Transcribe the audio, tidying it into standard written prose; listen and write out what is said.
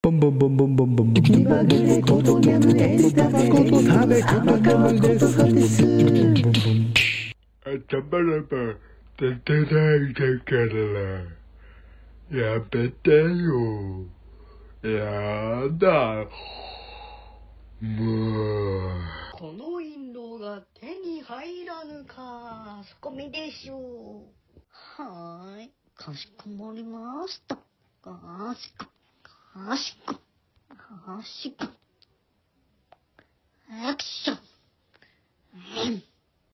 ボンボンボンボンボンボンボン。気まぐれこと眠れスタバこと食べことかむです。頭らば出てないだからやめてよ。やだ。もう。 この印籠が手に入らぬか。そこめでしょう。はーい。かしこまりました。かしこ。かしこ。かしこ。アクション。